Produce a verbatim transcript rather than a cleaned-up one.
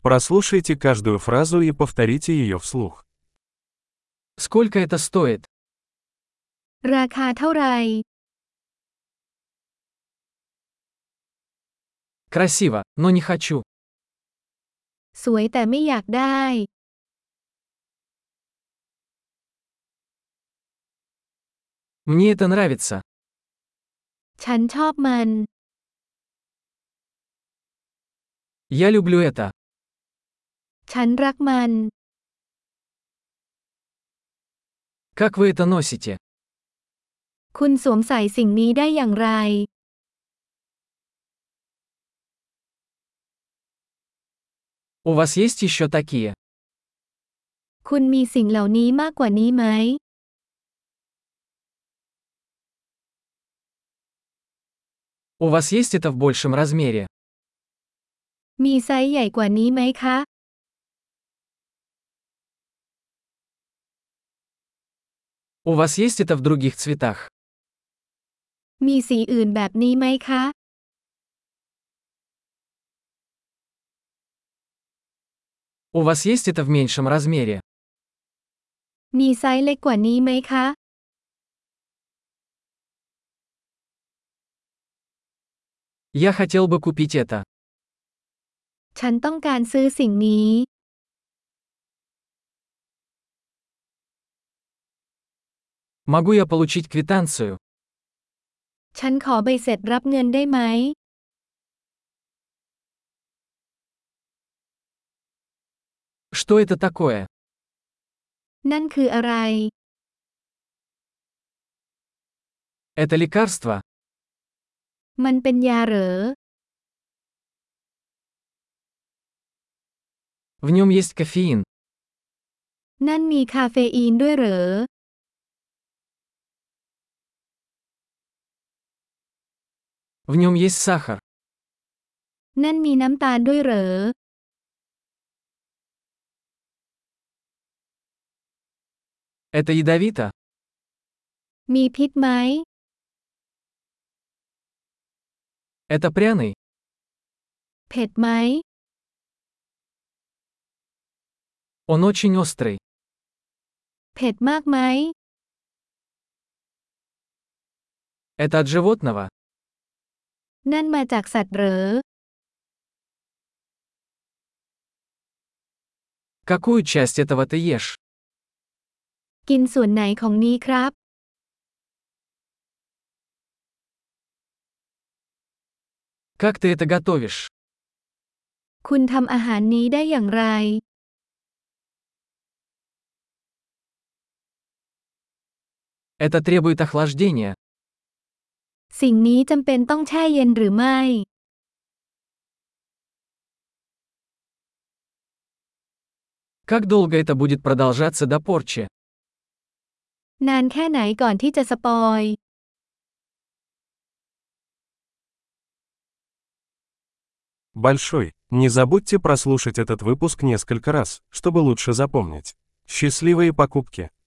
Прослушайте каждую фразу и повторите ее вслух. Сколько это стоит? ราคาเท่าไหร่ Красиво, но не хочу. สวยแต่ไม่อยากได้ Мне это нравится. ฉันชอบมัน Я люблю это. ฉันรักมัน Как вы это носите? คุณสวมใส่สิ่งนี้ได้อย่างไร У вас есть еще такие? คุณมีสิ่งเหล่านี้มากกว่านี้ไหม У вас есть это в большем размере? มีไซส์ใหญ่กว่านี้ไหมคะ У вас есть это в других цветах? มีสีอื่นแบบนี้ไหมคะ У вас есть это в меньшем размере? มีไซส์เล็กกว่านี้ไหมคะ Я хотел бы купить это. ฉันต้องการซื้อสิ่งนี้ Могу я получить квитанцию? ฉันขอใบเสร็จรับเงินได้ไหม Что это такое? นั่นคืออะไร Это лекарство? มันเป็นยาเหรอ В нем есть кофеин. นั่นมีคาเฟอีนด้วยเหรอ В нем есть сахар. นั่นมีน้ำตาลด้วยเหรอ Это ядовито? มีพิษไหม Это пряный? เผ็ดไหม Он очень острый. เผ็ดมากไหม Это от животного? นั่นมาจากสัตว์เหรอ Какую часть этого ты ешь? กินส่วนไหนของนี้ครับ Как ты это готовишь? คุณทำอาหารนี้ได้อย่างไร Это требует охлаждения. สิ่งนี้จำเป็นต้องแช่เย็นหรือไม่ Как долго это будет продолжаться до порчи? นานแค่ไหนก่อนที่จะสปอย Большой. Не забудьте прослушать этот выпуск несколько раз, чтобы лучше запомнить. Счастливые покупки!